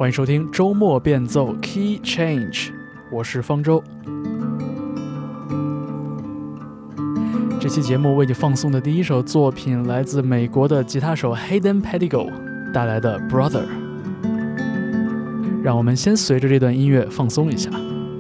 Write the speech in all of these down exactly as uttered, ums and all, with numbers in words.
欢迎收听周末变奏 Key Change， 我是方舟。这期节目为你放送的第一首作品来自美国的吉他手 Hayden Pettigo 带来的 Brother。 让我们先随着这段音乐放松一下。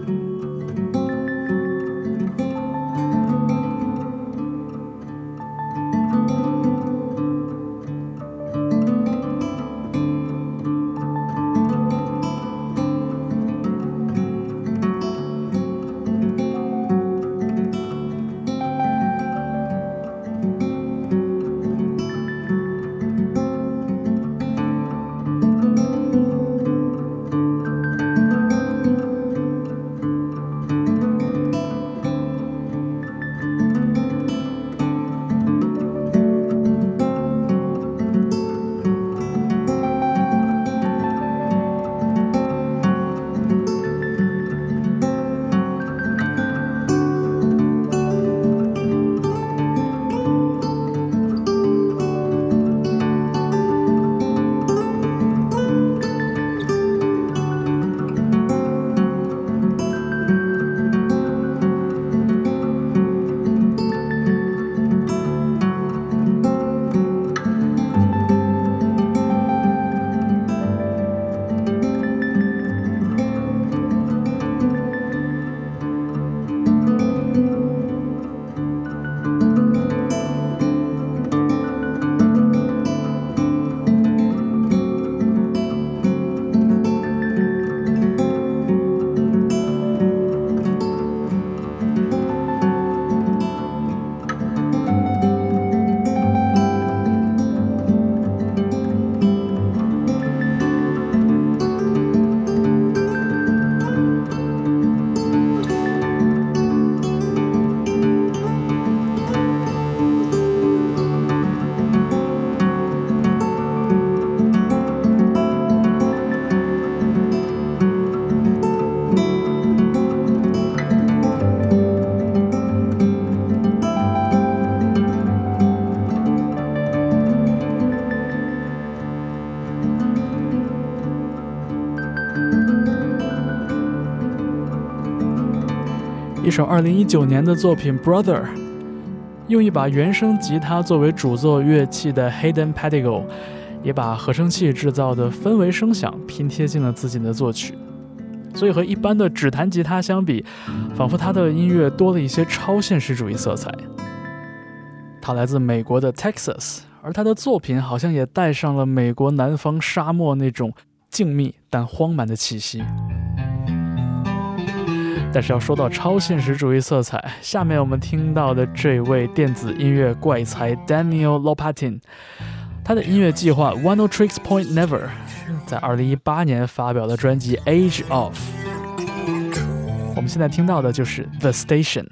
一首二零一九年的作品 Brother， 用一把原声吉他作为主奏乐器的 Hayden Pettigo 也把合成器制造的氛围声响拼贴进了自己的作曲，所以和一般的指弹吉他相比，仿佛他的音乐多了一些超现实主义色彩。他来自美国的 Texas， 而他的作品好像也带上了美国南方沙漠那种静谧但荒蛮的气息。但是要说到超现实主义色彩，下面我们听到的这位电子音乐怪才 Daniel Lopatin， 他的音乐计划 One Tricks Point Never 在二零一八年发表的专辑 Age Of， 我们现在听到的就是 The Station。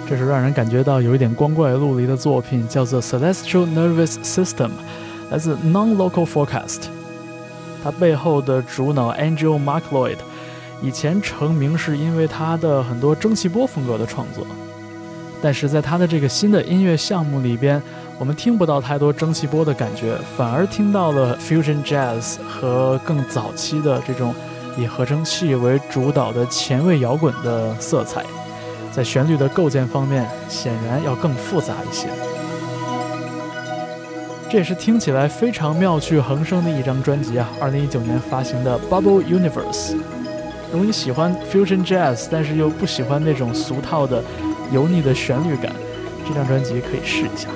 这是让人感觉到有一点光怪陆离的作品，叫做 Celestial Nervous System， 来自 Non-Local Forecast。 它背后的主脑 Angel McLeod 以前成名是因为他的很多蒸汽波风格的创作，但是在他的这个新的音乐项目里边，我们听不到太多蒸汽波的感觉，反而听到了 Fusion Jazz 和更早期的这种以合成器为主导的前卫摇滚的色彩，在旋律的构建方面显然要更复杂一些。这也是听起来非常妙趣横生的一张专辑啊，二零一九年发行的 Bubble Universe。 如果你喜欢 Fusion Jazz 但是又不喜欢那种俗套的油腻的旋律感，这张专辑可以试一下。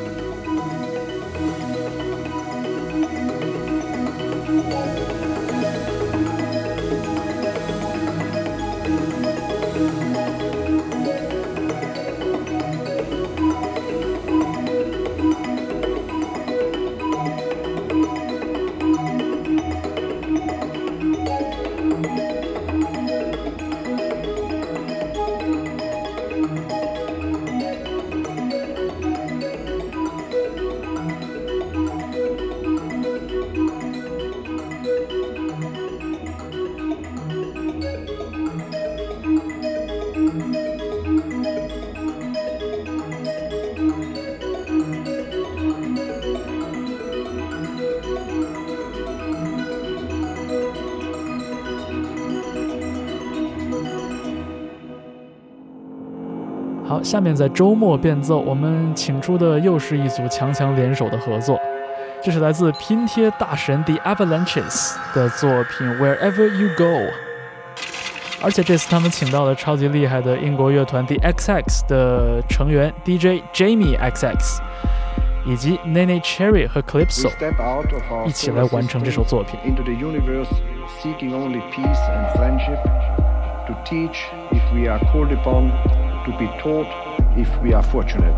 好，下面在周末变奏，我们请出的又是一组强强联手的合作，这是来自拼贴大神 The Avalanches 的作品 Wherever You Go， 而且这次他们请到了超级厉害的英国乐团 The X X 的成员 D J Jamie X X 以及 Nene Cherry 和 Calypso 一起来完成这首作品。 Into the universe, seeking only peace and friendship, to teach if we are called upon, to be taught if we are fortunate.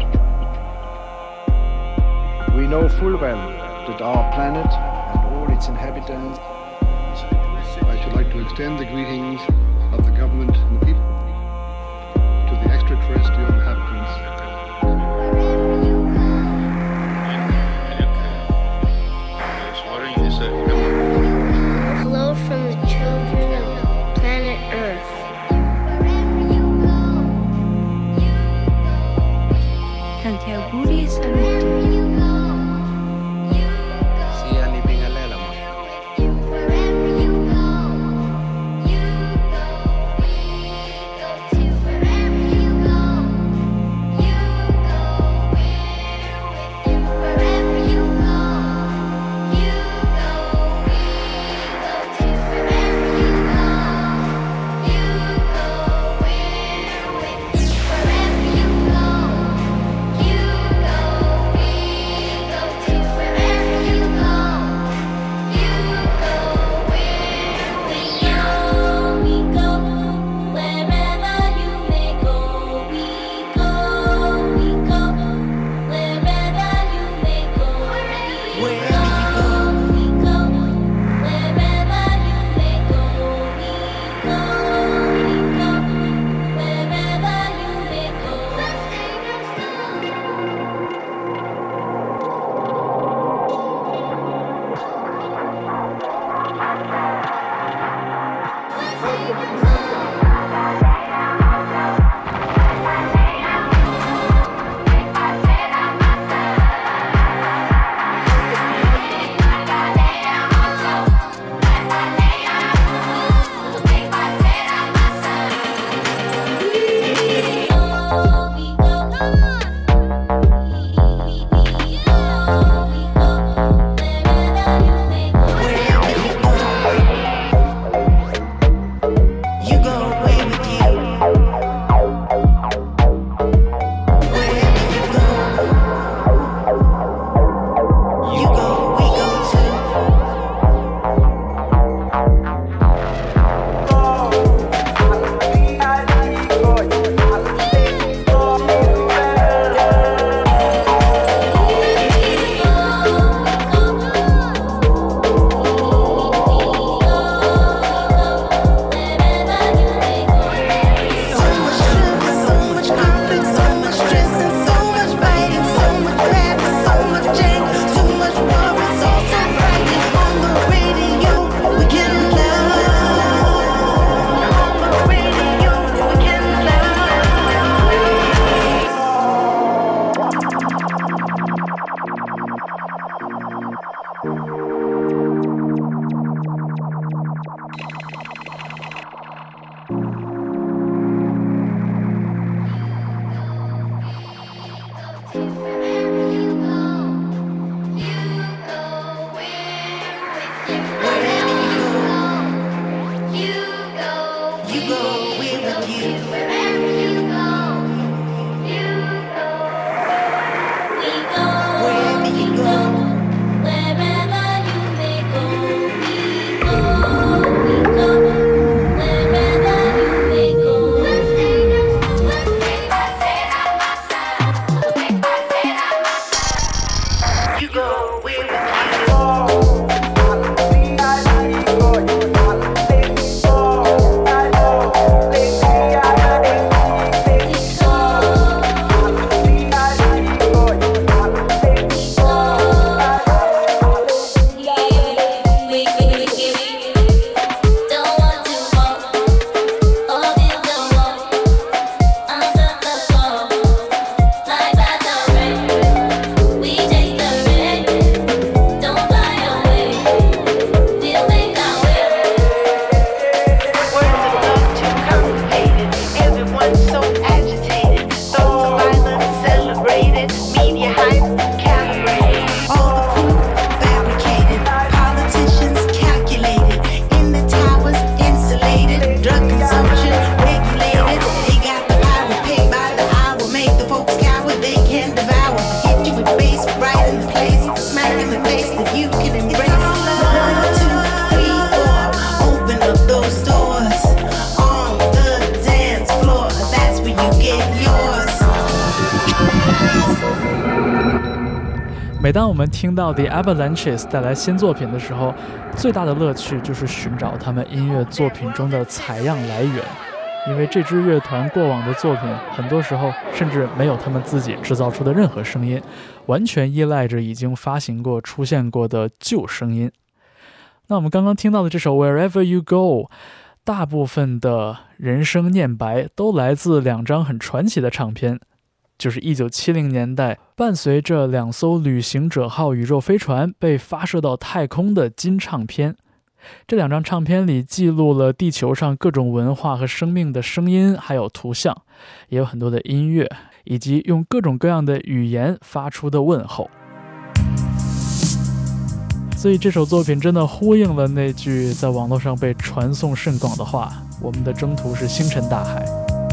We know full well that our planet and all its inhabitants. I should like to extend the greetings of the government and the people to the extraterrestrial inhabitants. Hello from the children of planet Earth. 每当我们听到 The Avalanches 带来新作品的时候，最大的乐趣就是寻找他们音乐作品中的采样来源，因为这支乐团过往的作品很多时候甚至没有他们自己制造出的任何声音，完全依赖着已经发行过出现过的旧声音。那我们刚刚听到的这首 Wherever You Go， 大部分的人声念白都来自两张很传奇的唱片，就是一九七零年代伴随着两艘旅行者号宇宙飞船被发射到太空的金唱片。这两张唱片里记录了地球上各种文化和生命的声音，还有图像，也有很多的音乐，以及用各种各样的语言发出的问候。所以这首作品真的呼应了那句在网络上被传颂甚广的话：我们的征途是星辰大海。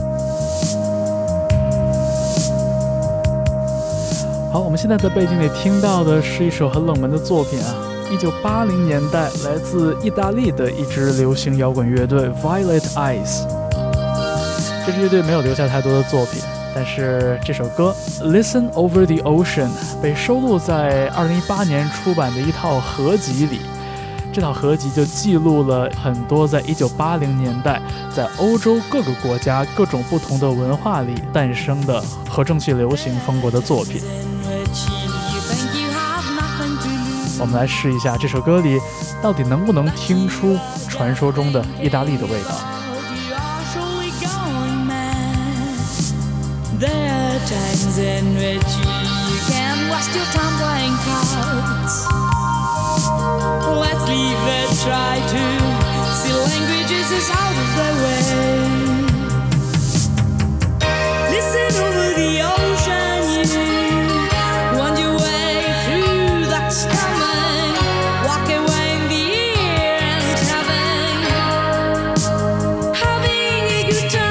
好，我们现在在背景里听到的是一首很冷门的作品啊，一九八零年代来自意大利的一支流行摇滚乐队 Violet Eyes。 这支乐队没有留下太多的作品，但是这首歌 Listen Over the Ocean 被收录在二零一八年出版的一套合集里。这套合集就记录了很多在一九八零年代在欧洲各个国家各种不同的文化里诞生的合成器流行风格的作品。我们来试一下这首歌里到底能不能听出传说中的意大利的味道。 There are times in which you can waste your time playing cards. Let's leave it, try to see languages is out of the way. Listen over the ocean, you wind your way through that's coming. Walk away in the air and having, having a good time.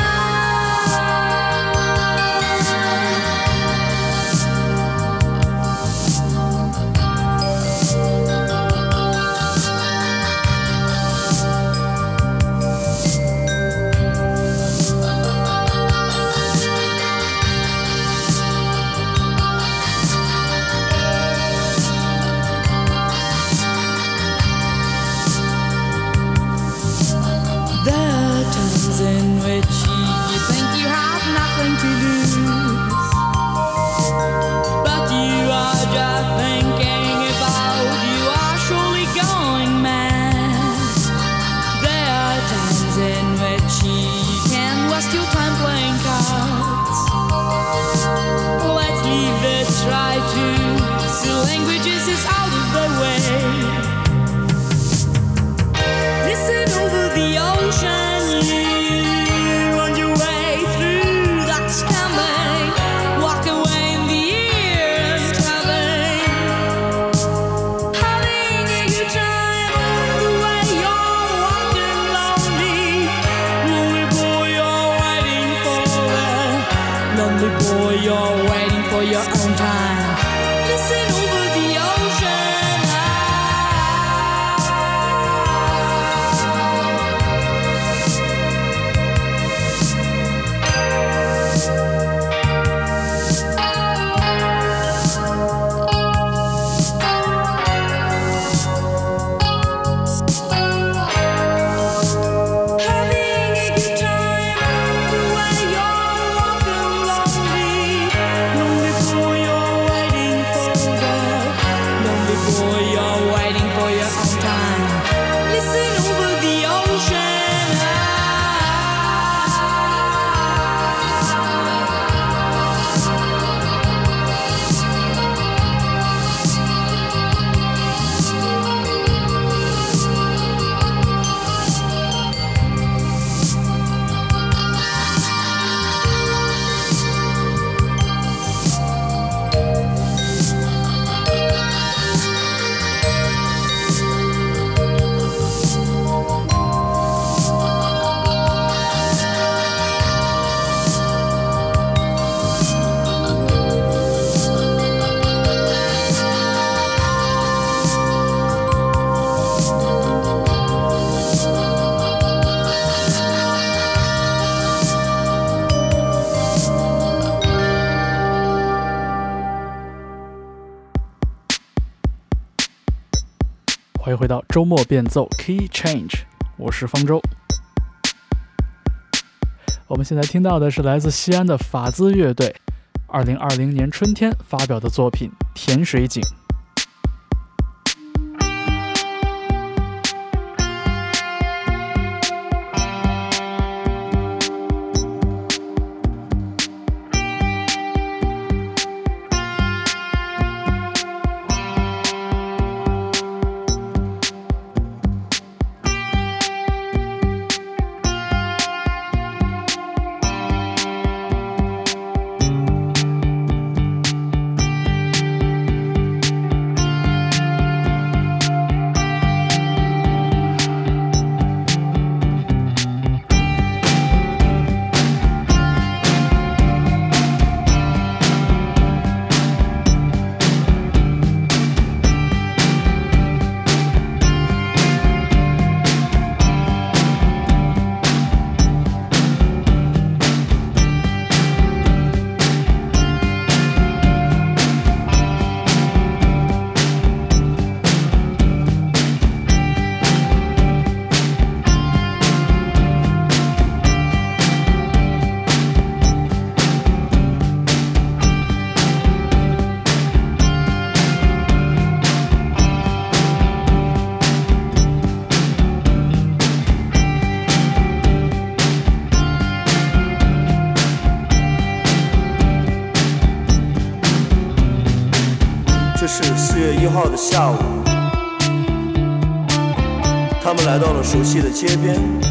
In which you think you have nothing to lose, but you are just thinking about you are surely going mad. There are times in which you can waste your time playing cards. Let's leave it, try to see languages is out of the way. Listen over the ocean, you you're waiting for your own time. Listen over the ocean 欢迎回到周末变奏 Key Change， 我是方舟。我们现在听到的是来自西安的法兹乐队二零二零年春天发表的作品《甜水井》。 是四月一号的下午，他们来到了熟悉的街边，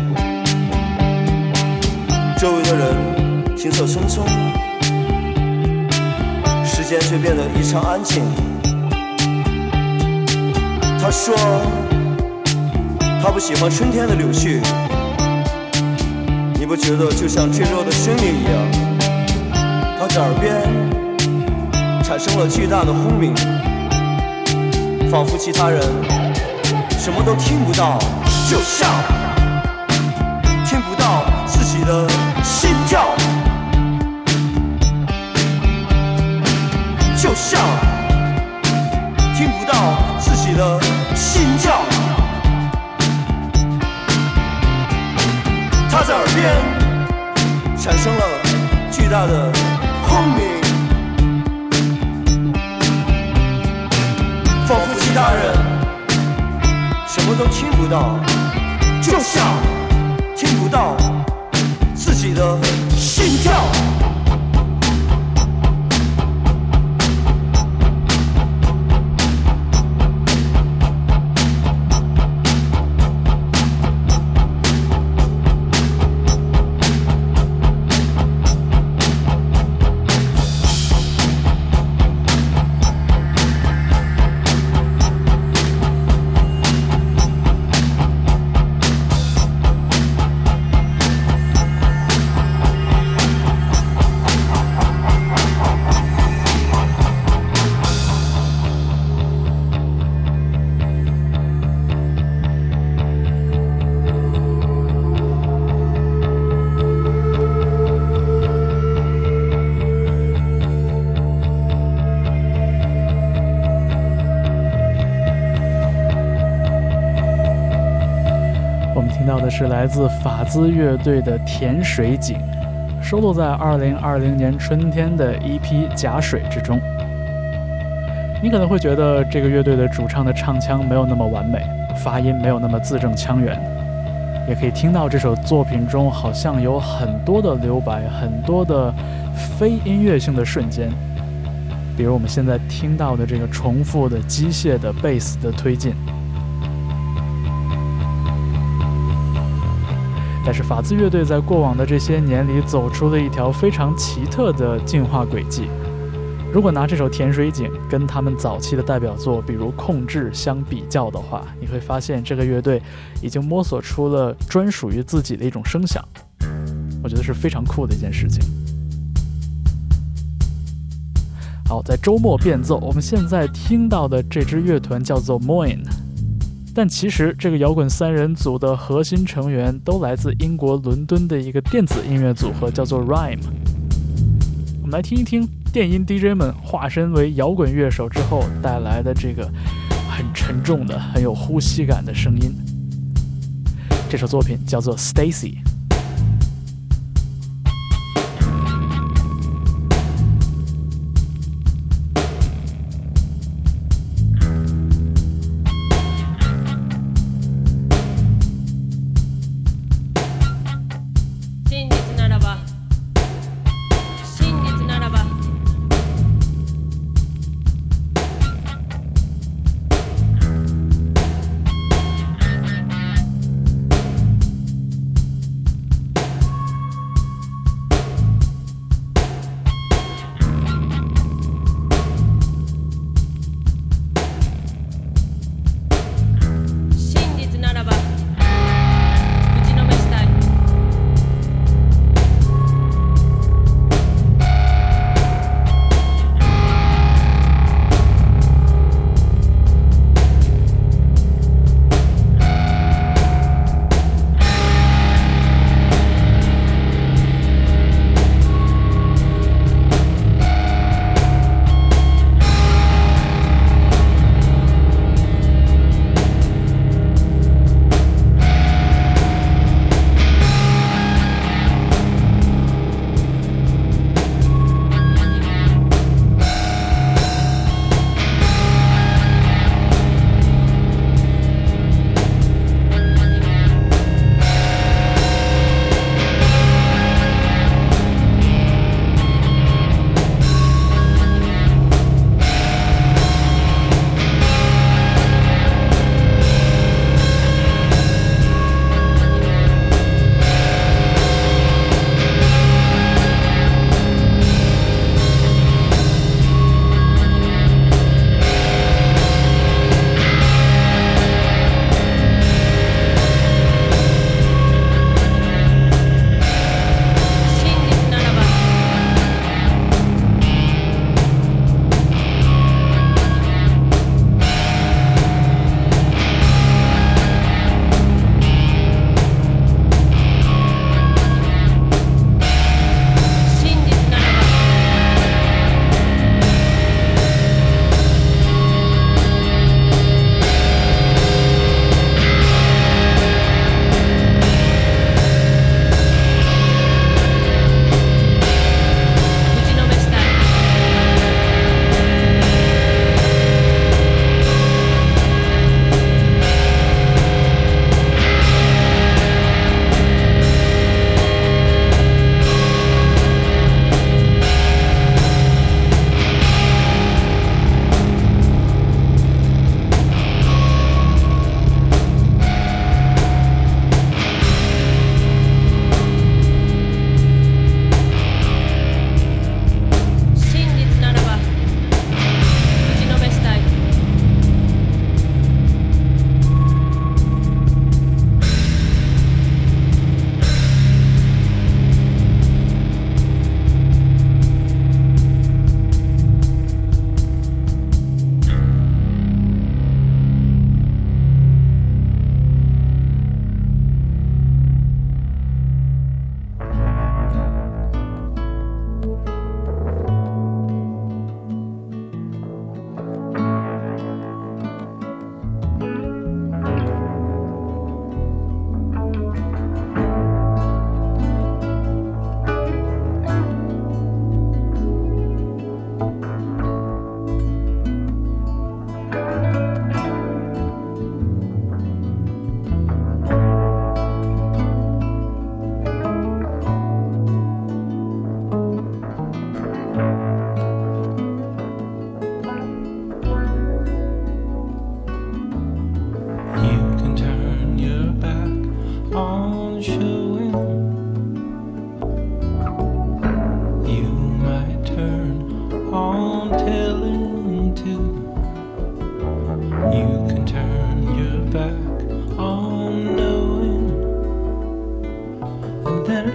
周围的人行色匆匆，时间却变得异常安静。他说他不喜欢春天的柳絮，你不觉得就像坠落的生命一样？他的耳边产生了巨大的轰鸣，仿佛其他人什么都听不到，就像听不到自己的心跳，就像听不到自己的心跳。他在耳边产生了巨大的轰鸣，仿佛其他人什么都听不到，就像听不到自己的心跳。 的是来自法兹乐队的甜水井，收录在二零二零年春天的 E P 假水之中。你可能会觉得这个乐队的主唱的唱腔没有那么完美，发音没有那么字正腔圆，也可以听到这首作品中好像有很多的留白，很多的非音乐性的瞬间，比如我们现在听到的这个重复的机械的贝斯的推进。但是法兹乐队在过往的这些年里走出了一条非常奇特的进化轨迹。如果拿这首甜水井跟他们早期的代表作比如控制相比较的话，你会发现这个乐队已经摸索出了专属于自己的一种声响，我觉得是非常酷的一件事情。好，在周末变奏，我们现在听到的这支乐团叫做 Moin， 但其实这个摇滚三人组的核心成员都来自英国伦敦的一个电子音乐组合，叫做 Rime。 我们来听一听电音 D J 们化身为摇滚乐手之后带来的这个很沉重的、很有呼吸感的声音。这首作品叫做 Stacy。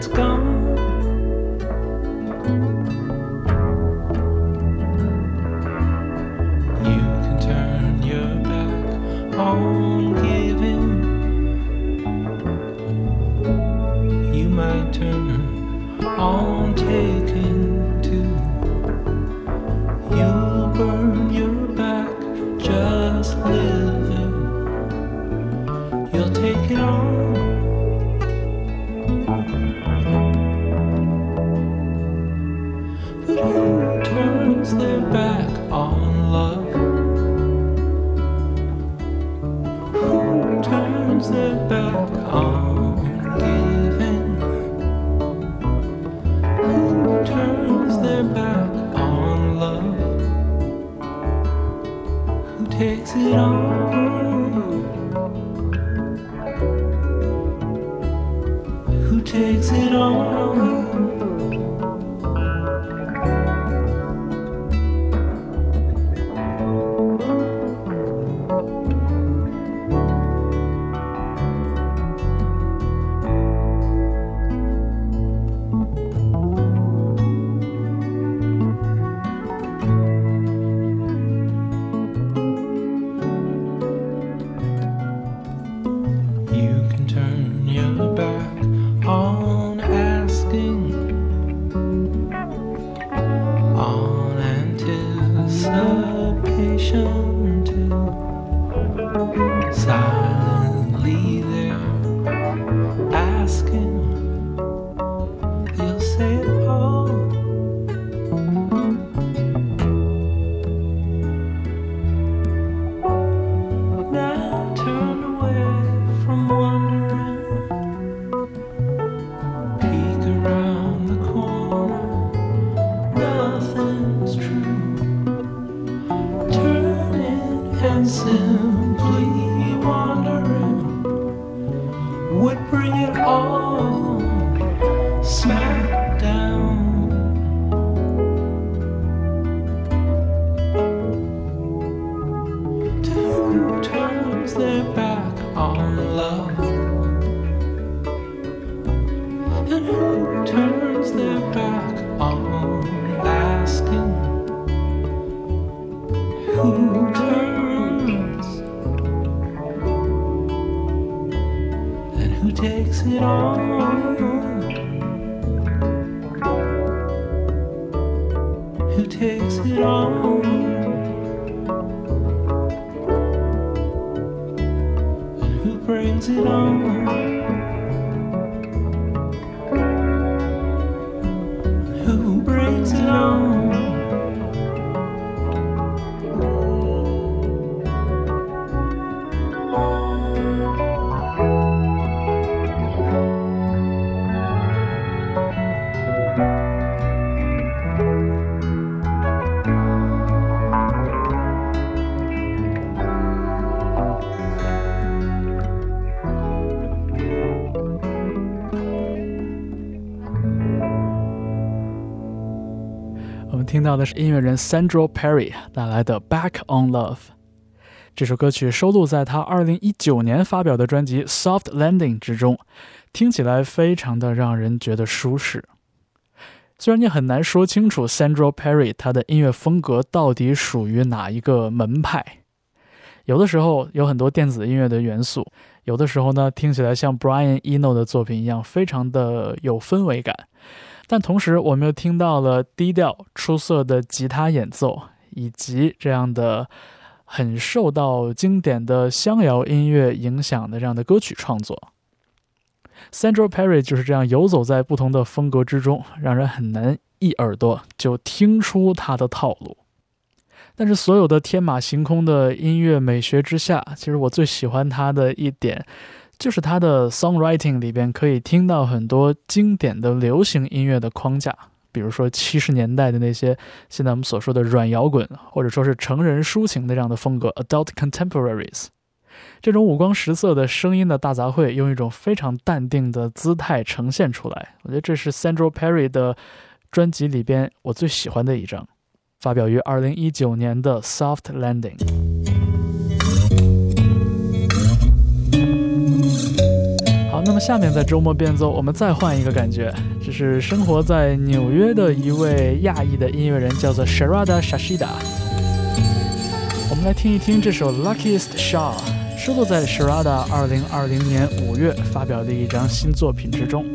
it's gone. You can turn your back on giving. You might turn on taking too. You'll burn your back just living. You'll take it on. But who turns their back on love? Who turns their back on giving? Who turns their back on love? Who takes it on? Who takes it on? 听到的是音乐人 Sandro Perry 带来的 Back on Love。 这首歌曲收录在他二零一九年发表的专辑 Soft Landing 之中，听起来非常的让人觉得舒适。虽然你很难说清楚 Sandro Perry 他的音乐风格到底属于哪一个门派，有的时候有很多电子音乐的元素，有的时候呢听起来像 Brian Eno 的作品一样非常的有氛围感，但同时我们又听到了低调出色的吉他演奏，以及这样的很受到经典的乡谣音乐影响的这样的歌曲创作。 Sandro Perry 就是这样游走在不同的风格之中，让人很难一耳朵就听出他的套路。但是所有的天马行空的音乐美学之下，其实我最喜欢他的一点就是他的 songwriting 里边可以听到很多经典的流行音乐的框架，比如说七十年代的那些现在我们所说的软摇滚，或者说是成人抒情的这样的风格 adult contemporaries。 这种五光十色的声音的大杂烩用一种非常淡定的姿态呈现出来，我觉得这是 Sandro Perry 的专辑里边我最喜欢的一张，发表于二零一九年的 Soft Landing。 好，那那么下面在周末变奏，我们再换一个感觉，这是生活在纽约的一位亚裔的音乐人，叫做 Sharada Shashida。我们来听一听这首 Luckiest Shot， 收录在 Sharada 二零二零年五月发表的一张新作品之中。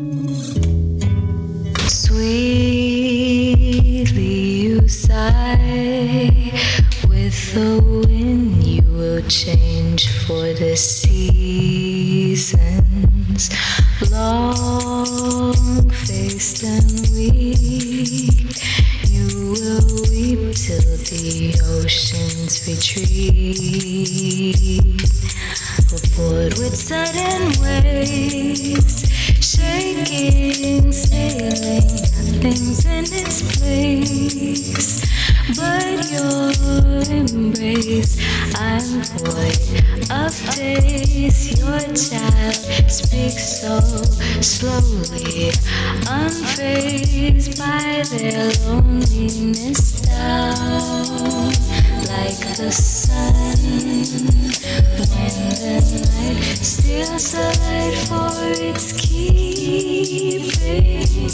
Sweetly you sigh, with the wind you will change for the seasons. Long-faced and weak, you will weep till the oceans retreat. Aboard with sudden waves, shaking, sailing, nothing's in its place but your embrace. I'm void of days, your child speaks so slowly, unfazed by their loneliness down like the sun. When the night steals the light for its keeping,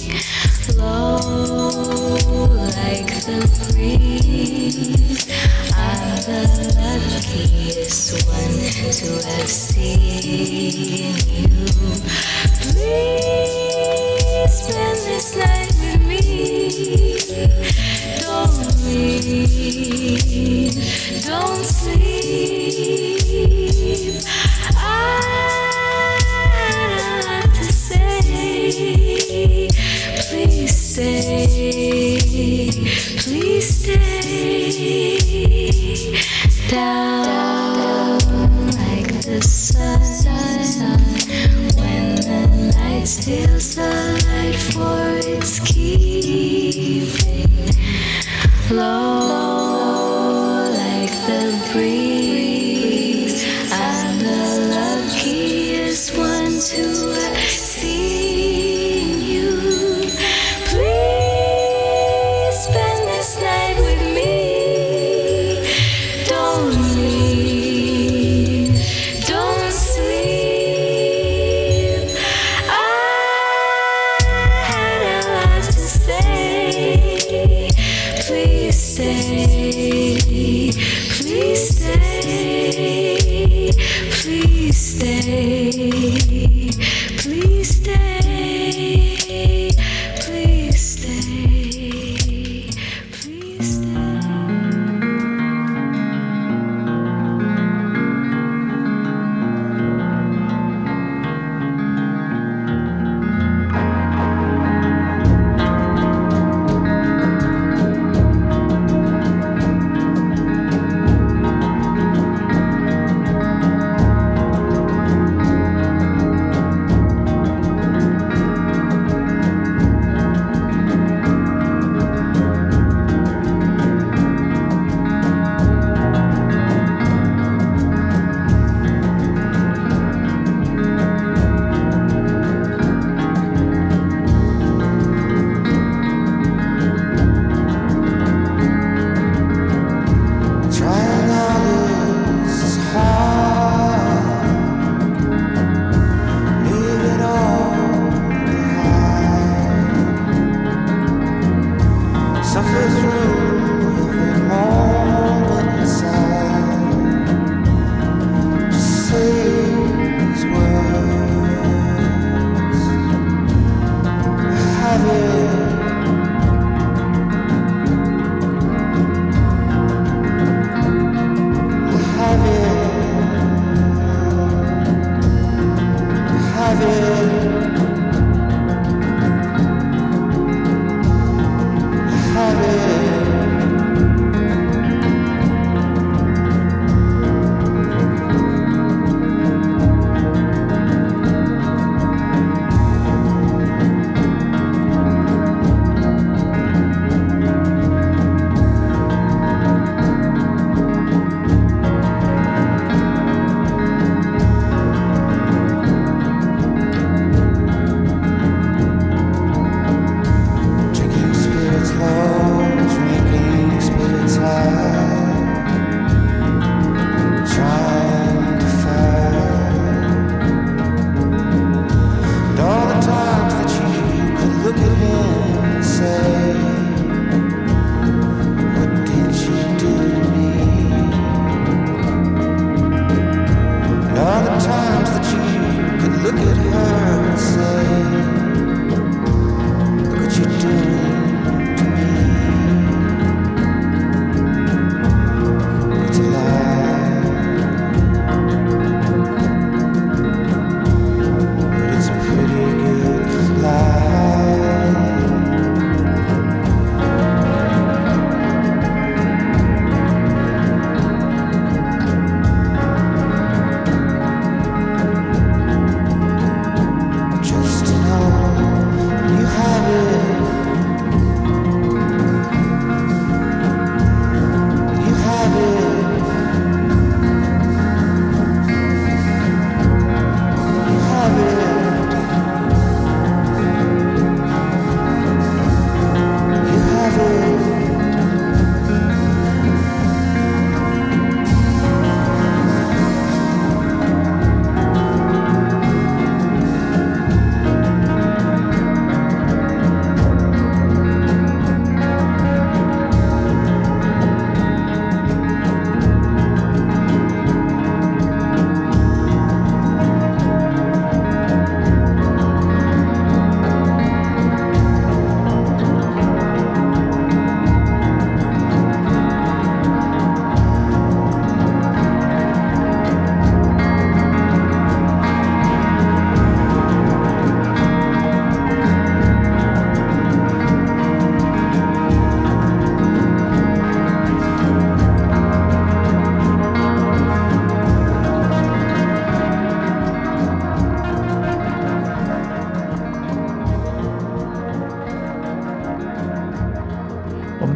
low like the breeze, I'm the luckiest one to have seen you. Please spend this night with me. Don't leave, don't sleep. I'd like to say, please stay, please stay. Down like the sun, when the night steals the light for its keeping, low like the breeze, I'm the luckiest one to have seen you. Please spend this night with me. Don't leave, don't sleep. I'd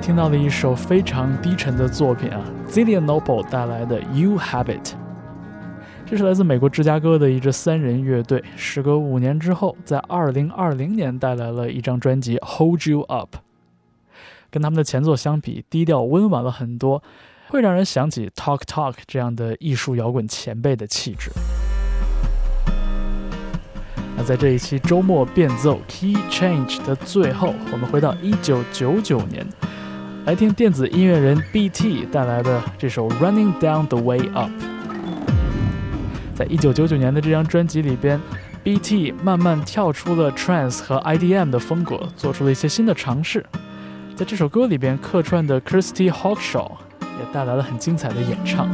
听到了一首非常低沉的作品啊 Zillion Noble 带来的 You Have It。 这是来自美国芝加哥的一支三人乐队，时隔五年之后，在二零二零年带来了一张专辑 Hold You Up。 跟他们的前作相比，低调温婉了很多，会让人想起 Talk Talk 这样的艺术摇滚前辈的气质。那在这一期周末变奏 Key Change 的最后，我们回到一九九九年，来听电子音乐人 B T 带来的这首 Running Down the Way Up。 在一九九九年的这张专辑里边， B T 慢慢跳出了 Trance 和 I D M 的风格，做出了一些新的尝试。在这首歌里边客串的 Kirsty Hawkshaw 也带来了很精彩的演唱。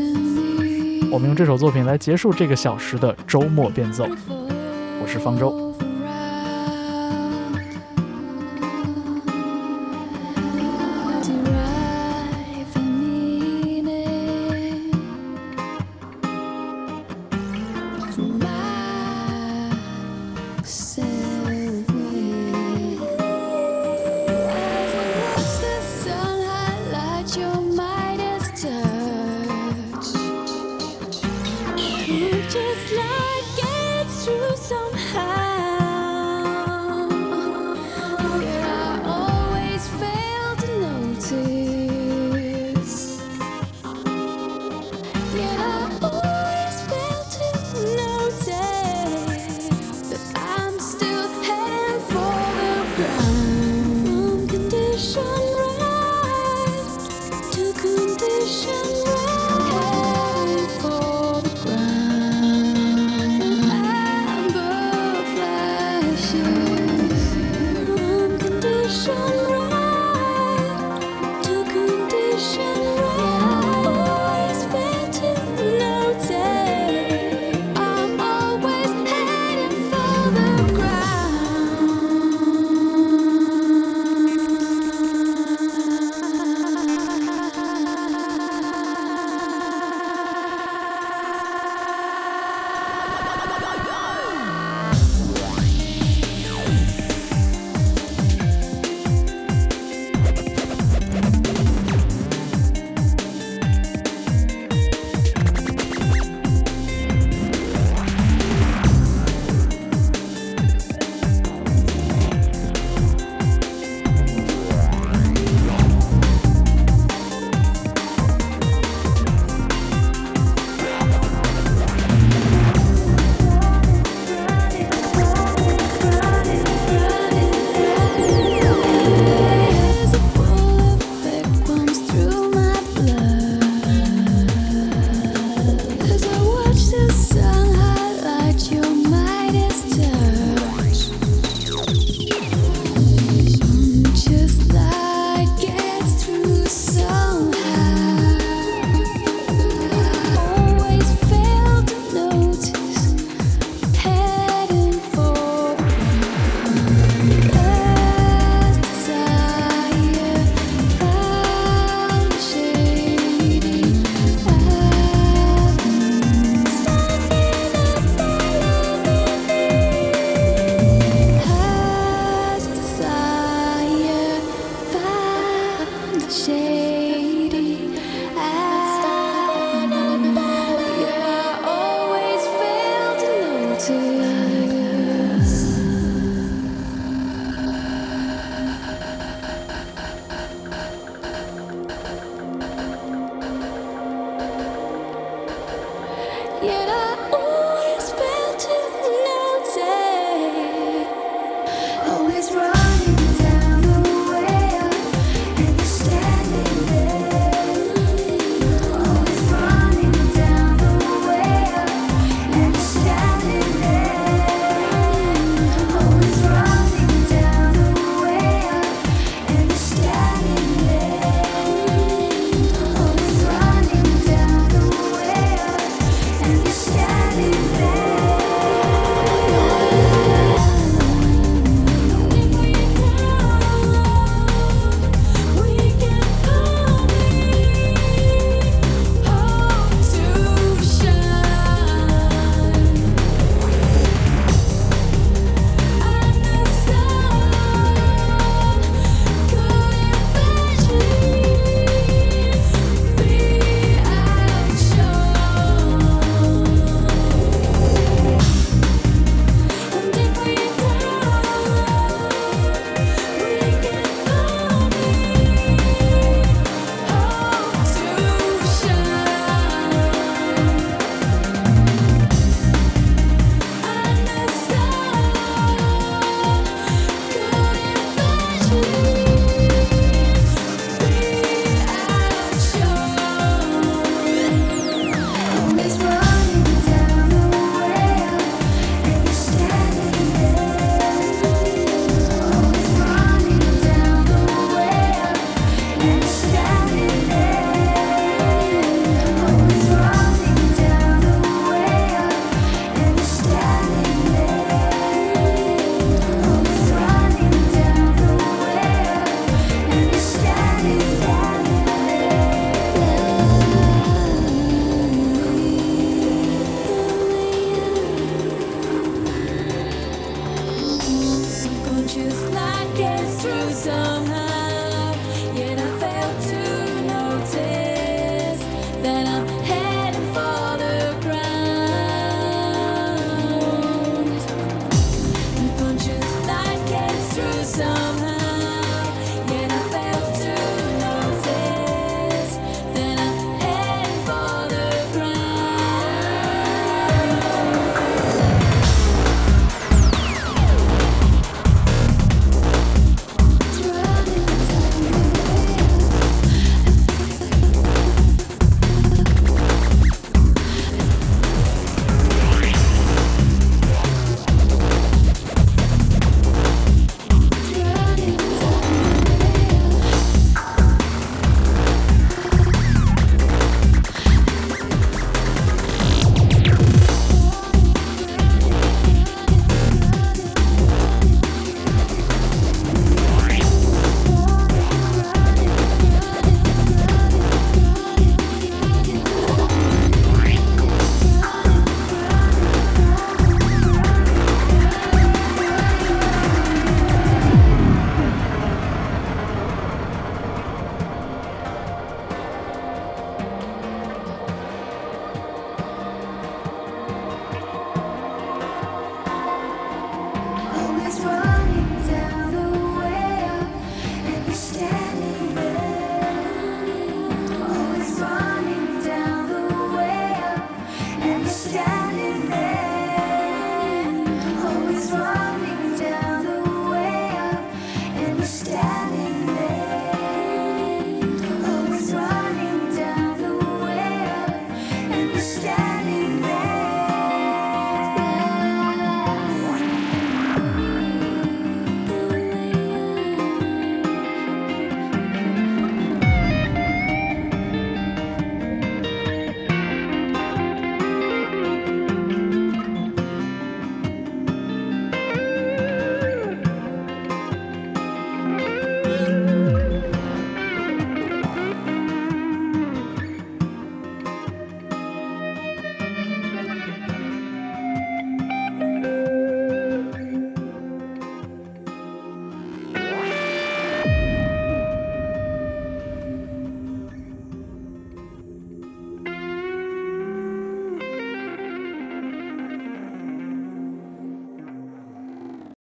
我们用这首作品来结束这个小时的周末变奏。我是方舟。